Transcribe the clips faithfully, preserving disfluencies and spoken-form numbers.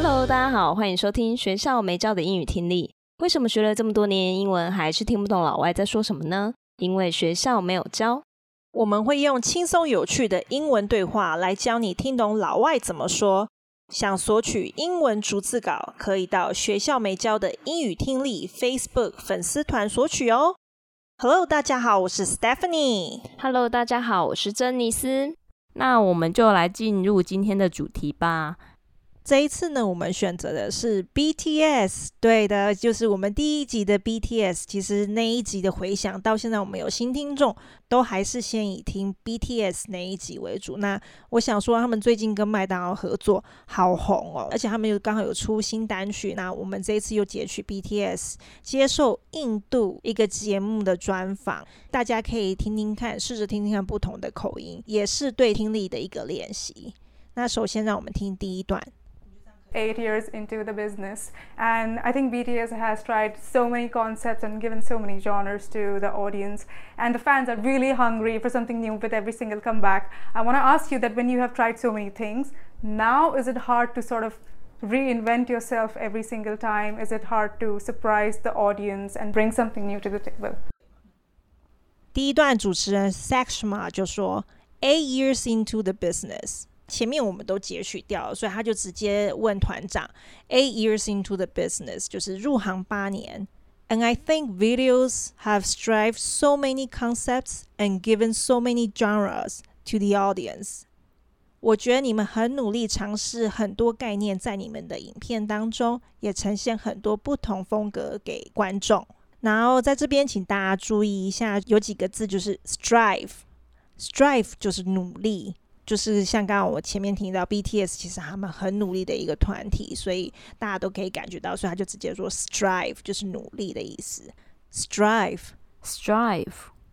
Hello， 大家好，歡迎收聽學校沒教的英語聽力。為什麼學了這麼多年英文，還是聽不懂老外在說什麼呢？因為學校沒有教。 我們會用輕鬆有趣的英文對話來教你聽懂老外怎麼說。想索取英文逐字稿，可以到學校沒教的英語聽力 Facebook 粉絲團索取哦。Hello， 大家好，我是 Stephanie。 Hello， 大家好，我是珍妮斯。那我們就來進入今天的主題吧。 這一次呢，我們選擇的是 B T S， 對的，就是我們第一集的 B T S。其實那一集的回響到現在，我們有新聽眾，都還是先以聽 B T S 那一集為主。那我想說，他們最近跟麥當勞合作好紅哦，而且他們又剛好有出新單曲。那我們這一次又截取 B T S 接受印度一個節目的專訪，大家可以聽聽看，試着聽聽看不同的口音，也是對聽力的一個練習。那首先讓我們聽第一段。 Eight years into the business, and I think B T S has tried so many concepts and given so many genres to the audience, and the fans are really hungry for something new with every single comeback. I want to ask you that when you have tried so many things, now is it hard to sort of reinvent yourself every single time? Is it hard to surprise the audience and bring something new to the table? 第一段主持人 Sakshma 就說 Eight years into the business，前面我們都截取掉了，所以他就直接問團長 Eight years into the business 就是入行八年。 And I think videos have strived so many concepts and given so many genres to the audience。 我覺得你們很努力嘗試很多概念，在你們的影片當中也呈現很多不同風格給觀眾。然後在這邊請大家注意一下，有幾個字就是 strive， strive 就是努力，就是像剛剛我前面提到 B T S 其實他們很努力的一個團體，所以大家都可以感覺到，所以他就直接說 strive 就是努力的意思。 strive Strive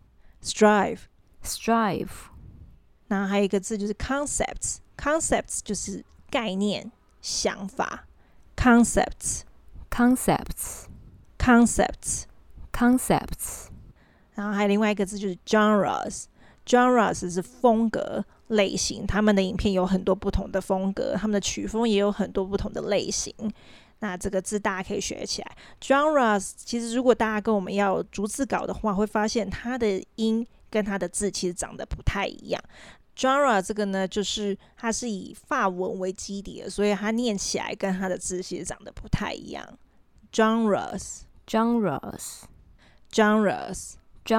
strive Strive 然後還有一個字就是 concepts concepts 就是概念想法。 concepts Concepts concepts Concepts 然後還有另外一個字就是 genres genres 是風格類型，他們的影片有很多不同的風格，他們的曲風也有很多不同的類型。那這個字大家可以學起來。 genres 其實如果大家跟我們要逐字稿的話，會發現它的音跟它的字其實長得不太一樣。genre 這個呢，就是它是以法文為基底的，所以它念起來跟它的字其實長得不太一樣。genres Genres genres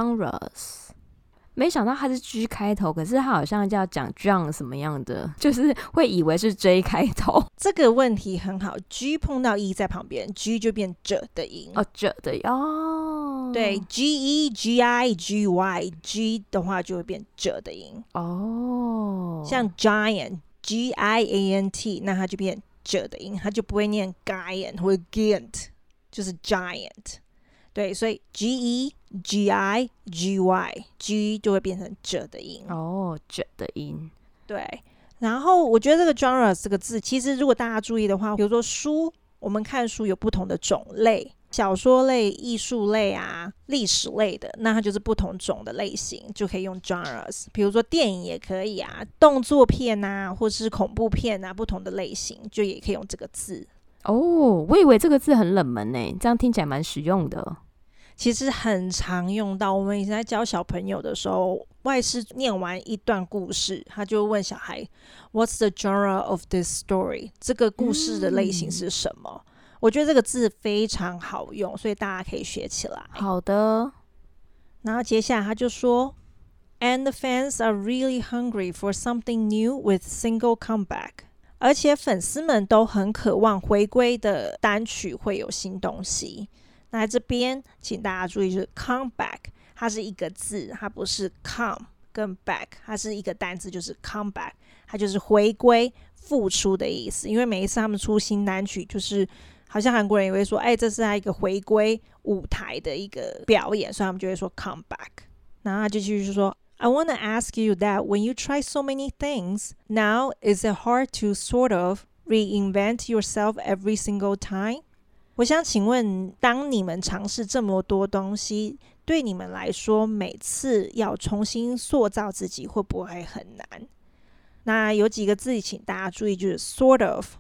Genres 沒想到它是 G 開頭，可是它好像就要講 John 什麼樣的，就是會以為是 J 開頭。 這個問題很好， G 碰到 E 在旁邊， G 就變 J 的音。 哦 J 的哦， 對 G E G I G Y G 的話就會變 J 的音。 哦， 像 Giant G I A N T 那它就變 J 的音，它就不會念 Giant 或者 Giant， 就是 Giant。對，所以 G E G I G Y G 就會變成 J 的音。 哦 J 的音。 對，然後我覺得這個 genre 這個字，其實如果大家注意的話，比如說書，我們看書有不同的種類，小說類、藝術類啊、歷史類的，那它就是不同種的類型，就可以用 genres。比如說電影也可以啊，動作片啊，或是恐怖片啊，不同的類型就也可以用這個字。 哦，我以為這個字很冷門耶，這樣聽起來蠻實用的。 其實很常用到，我們以前在教小朋友的時候，外師念完一段故事，他就問小孩 What's the genre of this story？ 這個故事的類型是什麼？嗯，我覺得這個字非常好用，所以大家可以學起來。 好的。 然後接下來他就說 And the fans are really hungry for something new with single comeback。而且粉絲們都很渴望回歸的單曲會有新東西。那這邊請大家注意，就是 comeback 它是一個字，它不是 come 跟 back， 它是一個單字，就是 comeback， 它就是回歸復出的意思。因為每一次他們出新單曲，就是好像韓國人也會說，哎，這是他一個回歸舞台的一個表演，所以他們就會說 comeback。然後他就繼續說 I want to ask you that when you try so many things, now is it hard to sort of reinvent yourself every single time？我想請問，當你們嘗試這麼多東西，對你們來說，每次要重新塑造自己，會不會很難？那有幾個字，請大家注意，就是 sort of。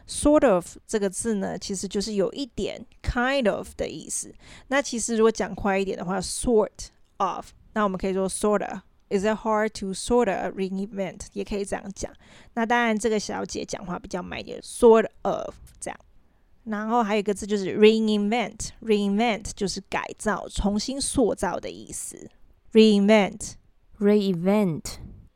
sort of 這個字呢，其實就是有一點 kind of 的意思。那其實如果講快一點的話 sort of， 那我們可以說 sorta Is it hard to sorta reinvent 也可以這樣講。那當然這個小姐講話比較慢一點 sort of 這樣。然後還有一個字就是 reinvent reinvent 就是改造重新塑造的意思。 reinvent reinvent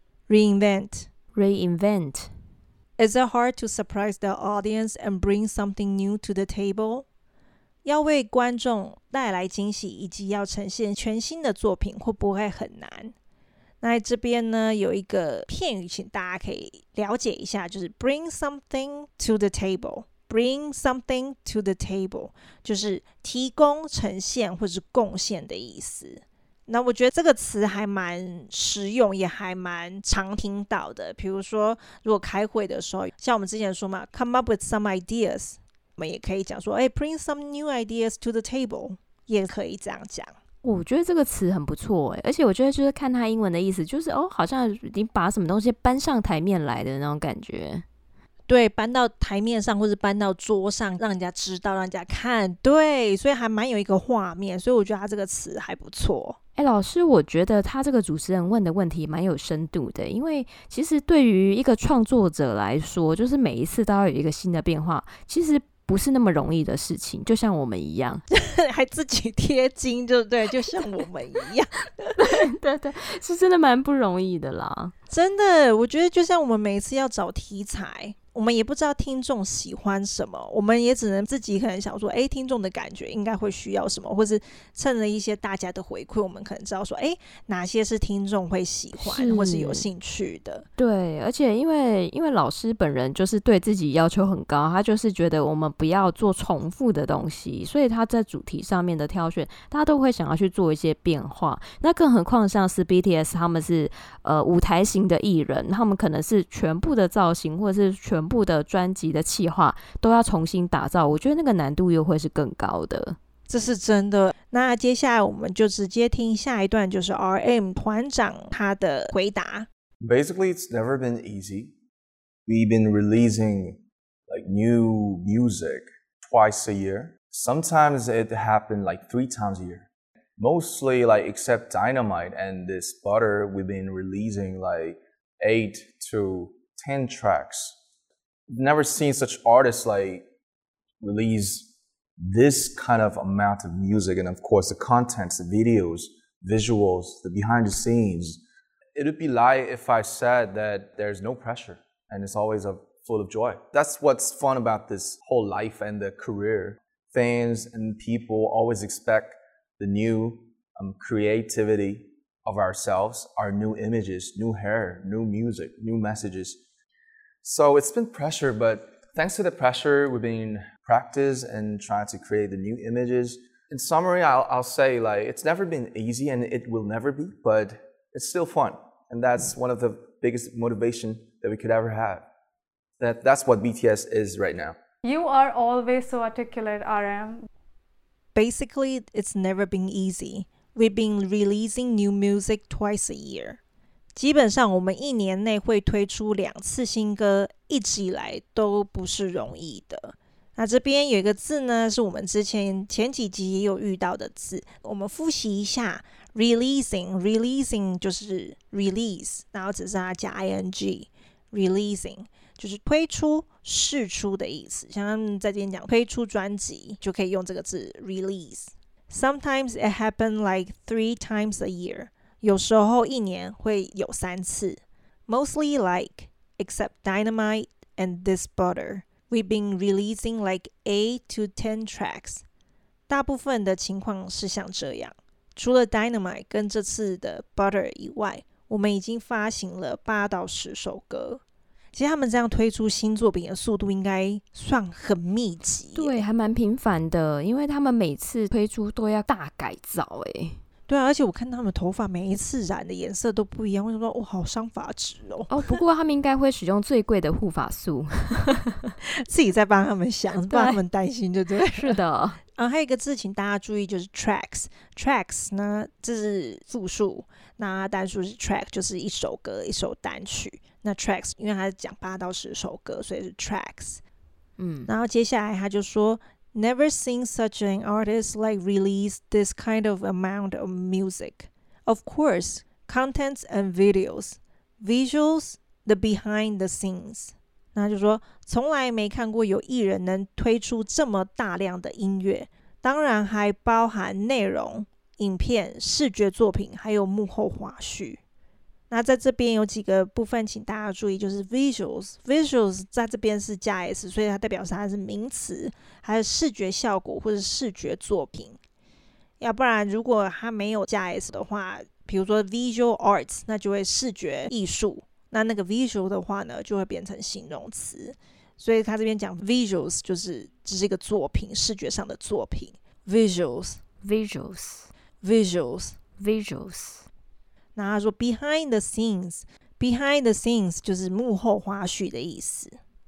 reinvent reinvent Is it hard to surprise the audience and bring something new to the table? 要為觀眾帶來驚喜以及要呈現全新的作品會不會很難？那這邊呢有一個片語請大家可以了解一下，就是 bring something to the table bring something to the table 就是提供呈現或是貢獻的意思。那我覺得這個詞還蠻實用也還蠻常聽到的，比如說如果開會的時候，像我們之前說嘛 come up with some ideas， 我們也可以講說哎 bring some new ideas to the table 也可以這樣講。 我覺得這個詞很不錯，而且我覺得就是看它英文的意思，就是哦，好像你把什麼東西搬上台面來的那種感覺。 對，搬到台面上或是搬到桌上，讓人家知道，讓人家看。對，所以還蠻有一個畫面，所以我覺得它這個詞還不錯。 哎，老師，我覺得他這個主持人問的問題蠻有深度的，因為其實對於一個創作者來說，就是每一次都要有一個新的變化，其實不是那麼容易的事情，就像我們一樣， 還自己貼金，對不對？就像我們一樣， 對對對，是真的蠻不容易的啦。 真的，我覺得就像我們每一次要找題材，我們也不知道聽眾喜歡什麼，我們也只能自己可能想說，哎，聽眾的感覺應該會需要什麼，或是趁着一些大家的回饋，我們可能知道說，哎，哪些是聽眾會喜歡是或是有興趣的。 對，而且因為因為老師本人就是對自己要求很高，他就是覺得我們不要做重複的東西，所以他在主題上面的挑選，大家都會想要去做一些變化。那更何況像是 B T S 他們是呃舞台型的藝人，他們可能是全部的造型或者是全部的專輯的企劃都要重新打造，我覺得那個難度又會是更高的。 這是真的。那接下來我們就直接聽下一段，就是 R M 團長他的回答。 Basically, it's never been easy. We've been releasing like new music twice a year. Sometimes it happened like three times a year. Mostly like except Dynamite and this Butter, we've been releasing like eight to ten tracks. I've never seen such artists like release this kind of amount of music, and of course the contents, the videos, visuals, the behind the scenes. It would be lie if I said that there's no pressure and it's always a, full of joy. That's what's fun about this whole life and the career. Fans and people always expect the new um, creativity of ourselves, our new images, new hair, new music, new messages. So it's been pressure, but thanks to the pressure, we've been practice and trying to create the new images. In summary, I'll, I'll say like it's never been easy and it will never be, but it's still fun. And that's one of the biggest motivation that we could ever have. That, that's what B T S is right now. You are always so articulate, R M. Basically, it's never been easy. We've been releasing new music twice a year. 基本上我們一年內會推出兩次新歌，一直以來都不是容易的。那這邊有一個字呢，是我們之前前幾集也有遇到的字，我們複習一下 releasing releasing 就是 release， 然後只是它加 ing releasing 就是推出釋出的意思，像他們在這邊講推出專輯就可以用這個字 release。 Sometimes it happens like three times a year， 有時候一年會有三次。 Mostly like except Dynamite and This Butter，We've been releasing like eight to ten tracks. 大部分的情況是像這樣，除了 Dynamite 跟這次的 Butter 以外，我們已經發行了八到十首歌。其實他們這樣推出新作品的速度應該算很密集。 對，還蠻頻繁的，因為他們每次推出都要大改造耶。 對啊，而且我看他們頭髮每一次染的顏色都不一樣，我想說，哇，好傷髮質哦。哦， 不過他們應該會使用最貴的護髮素， 自己在幫他們想，幫他們擔心，對不對？ 是的。 啊，還有一個字，請大家注意，就是 tracks。tracks 呢，這是複數，那單數是 track， 就是一首歌、一首單曲。那 tracks 因為它是講八到十首歌，所以是 tracks。 嗯， 然後接下來他就說 Never seen such an artist like release this kind of amount of music. Of course, contents and videos, visuals, the behind the scenes. 那就說從來沒看過有藝人能推出這麼大量的音樂，當然還包含內容、影片、視覺作品，還有幕後花絮。那在這邊有幾個部分請大家注意，就是 visuals visuals 在這邊是加 s， 所以它代表是它是名詞，還有視覺效果或者視覺作品。要不然如果它沒有加 s 的話，比如說 visual arts， 那就會視覺藝術，那那個 visual 的話呢就會變成形容詞，所以他這邊講 visuals 就是只是一個作品，視覺上的作品。 visuals visuals visuals visuals。 那他說 behind the scenes behind the scenes 就是幕後花絮的意思。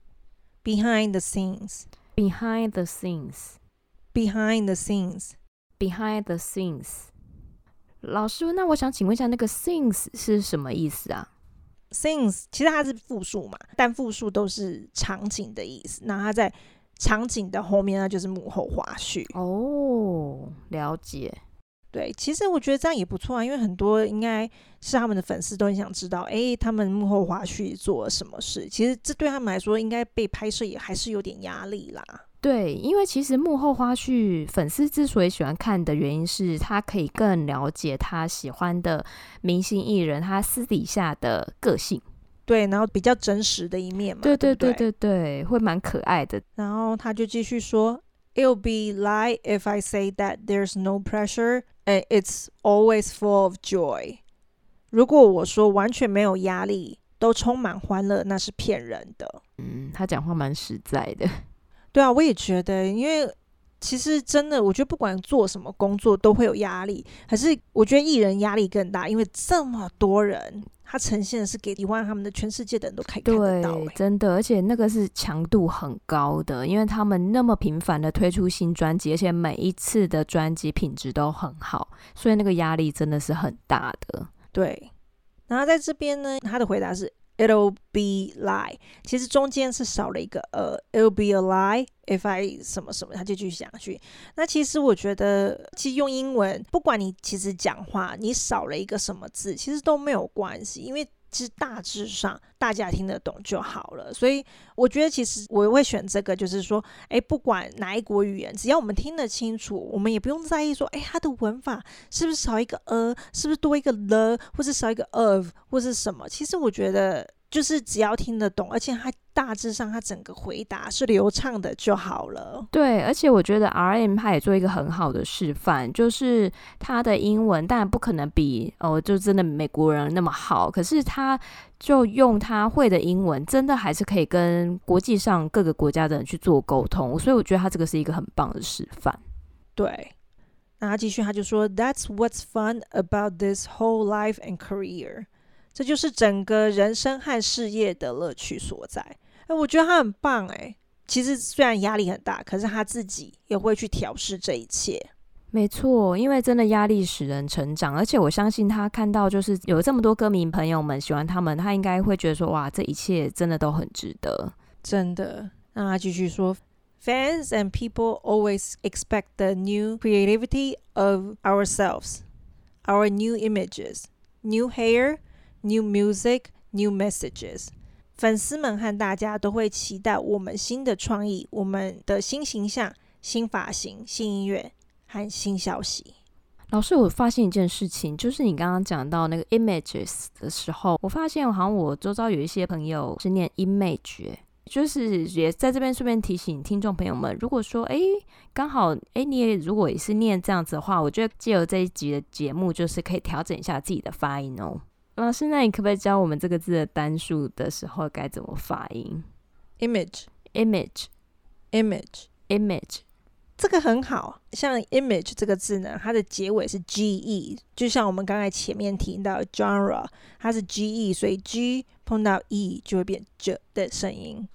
behind the scenes behind the scenes behind the scenes behind the scenes。 老師，那我想請問一下，那個 scenes 是什麼意思啊？ scenes 其實它是複數嘛，但複數都是場景的意思，那它在場景的後面呢就是幕後花絮。 哦，了解。 對，其實我覺得這樣也不錯啊，因為很多應該是他們的粉絲都很想知道，哎，他們幕後花絮做了什麼事。其實這對他們來說，應該被拍攝也還是有點壓力啦。 對，因為其實幕後花絮，粉絲之所以喜歡看的原因是，他可以更了解他喜歡的明星藝人他私底下的個性。 對，然後比較真實的一面嘛。 對对对对对对，會蠻可愛的。 然後他就繼續說 ，It'll be lie if I say that there's no pressure and it's always full of joy。如果我說完全沒有壓力，都充滿歡樂，那是騙人的。 嗯，他講話蠻實在的。 對啊，我也覺得，因為其實真的，我覺得不管做什麼工作都會有壓力，可是我覺得藝人壓力更大，因為這麼多人，他呈現的是給喜歡他們的全世界的人都可以看得到。 對，真的，而且那個是強度很高的，因為他們那麼頻繁的推出新專輯，而且每一次的專輯品質都很好，所以那個壓力真的是很大的。 對，然後在這邊呢，他的回答是It'll be lie， 其實中間是少了一個呃 It'll be a lie if I 什麼什麼，他就繼續講下去。那其實我覺得，其實用英文，不管你其實講話你少了一個什麼字，其實都沒有關係，因為其實大致上大家聽得懂就好了。所以我覺得其實我會選這個，就是說，哎，不管哪一國語言，只要我們聽得清楚，我們也不用在意說，哎，它的文法是不是少一個 a， 是不是多一個 the， 或是少一個 of， 或是什麼。其實我覺得就是只要聽得懂，而且它大致上它整個回答是流暢的就好了。 對，而且我覺得 R M 他也做一個很好的示範，就是他的英文當然不可能比哦，就真的美國人那麼好，可是他就用他會的英文，真的還是可以跟國際上各個國家的人去做溝通，所以我覺得他這個是一個很棒的示範。 對，那他繼續他就說 That's what's fun about this whole life and career， 這就是整個人生和事業的樂趣所在。哎，我覺得他很棒哎。其實雖然壓力很大，可是他自己也會去調適這一切。 沒錯，因為真的壓力使人成長，而且我相信他看到就是有這麼多歌迷朋友們喜歡他們，他應該會覺得說，哇，這一切真的都很值得。 真的。那他繼續說 Fans and people always expect the new creativity of ourselves, our new images, new hair, new music, new messages。粉絲們和大家都會期待我們新的創意，我們的新形象、新髮型、新音樂和新消息。 老師，我發現一件事情，就是你剛剛講到那個 images 的時候，我發現好像我周遭有一些朋友是念 image， 就是也在這邊順便提醒聽眾朋友們，如果說哎剛好哎你也如果也是念這樣子的話，我覺得借由這一集的節目，就是可以調整一下自己的發音哦。老師，那你可不可以教我們這個字的單數的時候該怎麼發音？ Image Image Image Image 這個很好，像 image 這個字呢，它的結尾是 ge， 就像我們剛才前面提到 genre， 它是 ge， 所以 g 碰到 e 就會變 j 的聲音。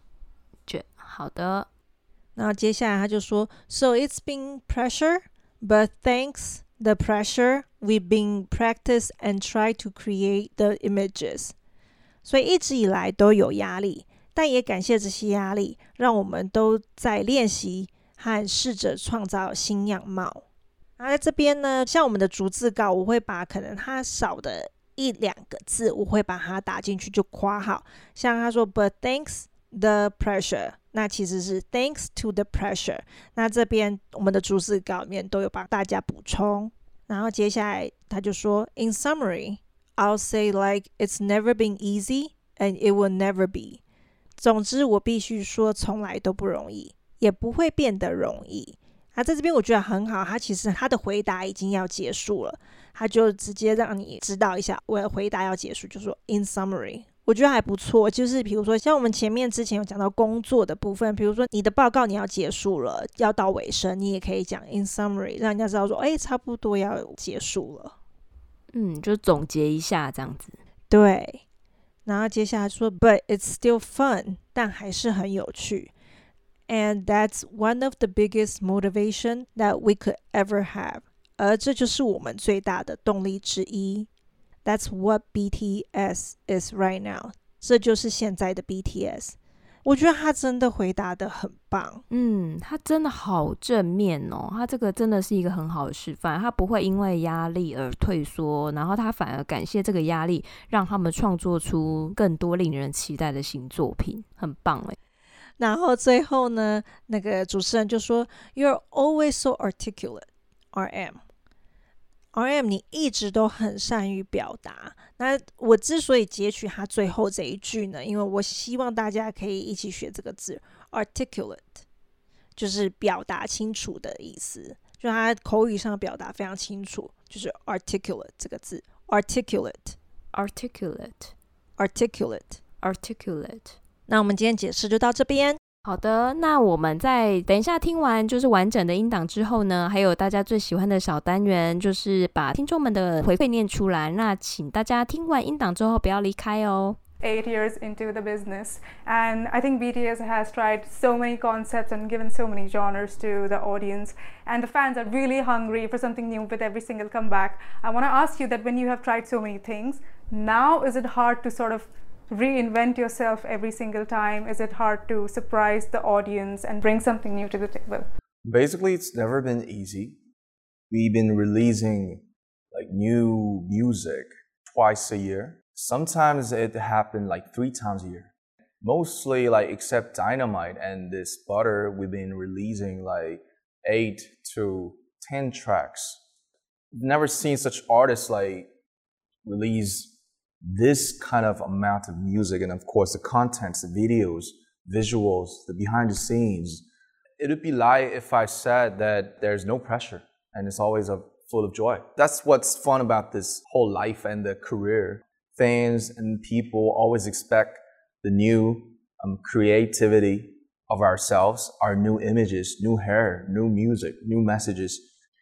j 好的。 然後接下來他就說 So it's been pressure, but thanks the pressure, we've been practice and try to create the images. 所以一直以來都有壓力， 但也感謝這些壓力，讓我們都在練習和試着創造新樣貌。然後在這邊呢，像我們的逐字稿，我會把可能它少的一兩個字，我會把它打進去就括號。像他說 But thanks the pressure， 那其實是 Thanks to the pressure。那這邊我們的逐字稿裡面都有幫大家補充。然後接下來他就說 In summary I'll say like it's never been easy and it will never be。總之我必須說從來都不容易，也不會變得容易。他在這邊我覺得很好，他其實他的回答已經要結束了，他就直接讓你知道一下我的回答要結束，就說 in summary， 我覺得還不錯。就是比如說像我們前面之前有講到工作的部分，比如說你的報告你要結束了，要到尾声，你也可以講 in summary， 讓人家知道說哎，差不多要結束了， 嗯，就總結一下這樣子。 對，然後接下來說 but it's still fun， 但還是很有趣。And that's one of the biggest motivation that we could ever have. 而這就是我們最大的動力之一。That's what B T S is right now. 這就是現在的 B T S。我覺得他真的回答得很棒。 嗯，他真的好正面哦，他這個真的是一個很好的示範。他不會因為壓力而退縮，然後他反而感謝這個壓力，讓他們創作出更多令人期待的新作品，很棒哎。 然後最後呢，那個主持人就說 You're always so articulate, R M R M 你一直都很善於表達。那我之所以截取他最後這一句呢，因為我希望大家可以一起學這個字 articulate， 就是表達清楚的意思，就他口語上表達非常清楚，就是 articulate 這個字 articulate articulate articulate articulate。 那我們今天解釋就到這邊。 好的，那我們在等一下聽完就是完整的音檔之後呢，還有大家最喜歡的小單元，就是把聽眾們的回饋念出來。那請大家聽完音檔之後不要離開哦。 Eight years into the business, and I think B T S has tried so many concepts and given so many genres to the audience, and the fans are really hungry for something new with every single comeback. I want to ask you that when you have tried so many things, now is it hard to sort of reinvent yourself every single time? Is it hard to surprise the audience and bring something new to the table? Basically, it's never been easy. We've been releasing like new music twice a year. Sometimes it happened like three times a year. Mostly like except Dynamite and this Butter, we've been releasing like eight to ten tracks. I've never seen such artists like release this kind of amount of music, and of course the contents, the videos, visuals, the behind the scenes. It would be lie if I said that there's no pressure and it's always a, full of joy. That's what's fun about this whole life and the career. Fans and people always expect the new um, creativity of ourselves, our new images, new hair, new music, new messages.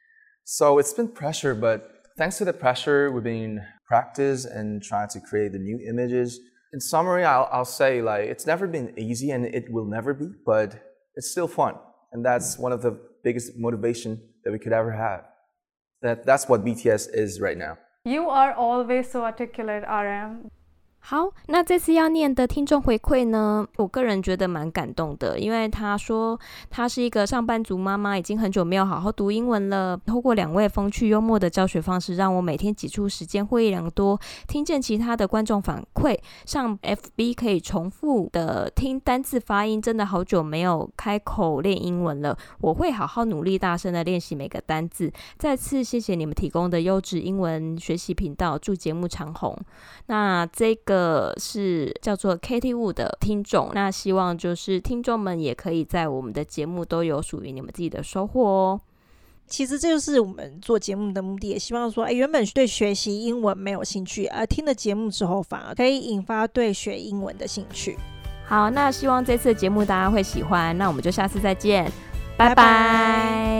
So it's been pressure, but thanks to the pressure, we've been practice and trying to create the new images. In summary, I'll, I'll say like it's never been easy and it will never be, but it's still fun. And that's one of the biggest motivation that we could ever have. That, that's what B T S is right now. You are always so articulate, R M. 好，那這次要念的聽眾回饋呢，我個人覺得蠻感動的，因為他說他是一個上班族媽媽，已經很久沒有好好讀英文了。透過兩位風趣幽默的教學方式，讓我每天擠出時間獲益良多。聽見其他的觀眾反饋，上 F B 可以重複的聽單字發音，真的好久沒有開口練英文了。我會好好努力，大聲的練習每個單字。再次謝謝你們提供的優質英文學習頻道，祝節目長紅。那這個。個是叫做 Katie Wu 的聽眾，那希望就是聽眾們也可以在我們的節目都有屬於你們自己的收穫哦。 其實這就是我們做節目的目的，也希望說，哎，原本對學習英文沒有興趣，而聽了節目之後，反而可以引發對學英文的興趣。 好，那希望這次的節目大家會喜歡，那我們就下次再見，拜拜。拜拜。